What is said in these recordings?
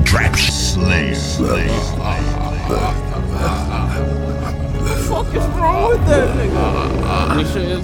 Trap Slayer. What the fuck is wrong with that nigga? This shit is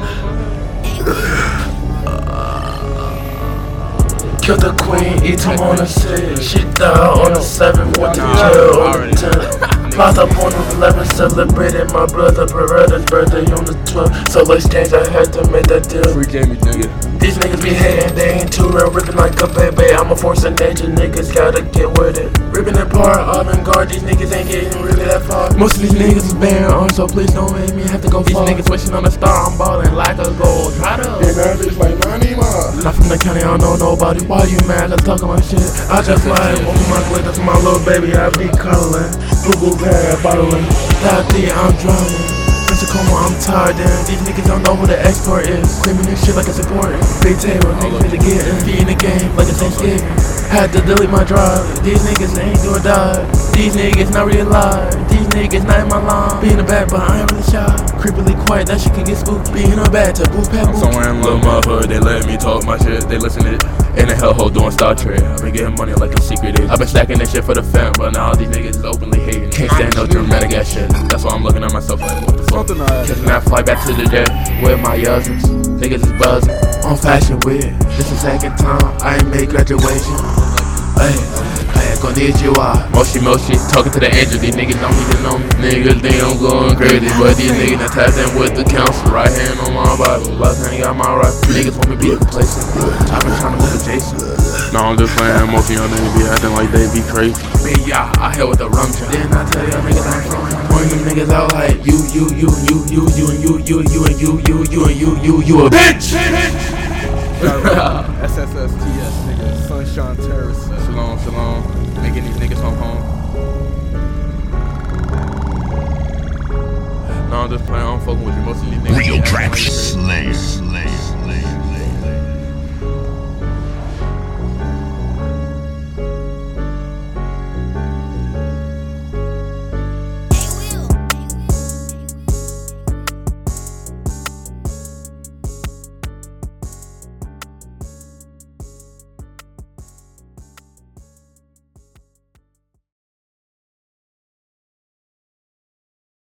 Kill the queen, eat him on the 6. She died on the 7th with the jail on the 10th. Popped up on the 11th, celebrated my brother Beretta's birthday on the 12th. So let's change, I had to make that deal. Free Jamie, nigga. These niggas be hating, they ain't too real, ripping like a baby. I'm a force of nature, niggas gotta get with it. Ripping apart, avant-garde, these niggas ain't getting really that far. Most of these niggas is bare arms, so please don't make me have to go far. These niggas wishing on a star, I'm ballin' like a gold. Try to bitch like 90 miles. Not from the county, I don't know nobody. Why you mad? Let's talk about shit. I just like open my clip, that's my little baby, I be cuddling. Google bag, bottling. That I'm drowning. Pensacola, I'm tired, damn. These niggas don't know who the export is. Screaming this shit like it's important. Big table, niggas to get in. Be in the game like it's Thanksgiving. Had to delete my drive. These niggas ain't do or die. These niggas not really alive. These niggas not in my line. Be in the back, but I ain't really shy. Creepily quiet, that shit can get spooked. Be in the back to boot pat. I'm somewhere in Little Motherhood, they let me talk my shit. They listen to it. In the hellhole doing Star Trek. I've been getting money like a secret is. I've been stacking this shit for the fam, but now all these niggas is openly hating. Can't stand no dramatic ass shit. That's why I'm looking at myself like, what the fuck? Cause now I fly back to the jet with my cousins. Niggas is buzzing on Fashion Week. This the second time I ain't made graduation. Hey, I ain't gonna need you out. Moshi, talking to the angel. These niggas don't even know me. Niggas think I'm going crazy, but these niggas done tapped in with the council. Right hand on my Bible, left hand got my right. Niggas want me to be complacent. I've been trying to move Jason. No, I'm just playing. Most of y'all niggas be acting like they be crazy. Me, yeah, I hit with the rum job. Didn't I tell y'all niggas I'm from? Pointing them niggas out like you a bitch. SSSTS, nigga. Sunshine Terrorist. Shalom. Making these niggas come home. No, I'm just playing. I'm fucking with you. Most of these niggas. Real Trap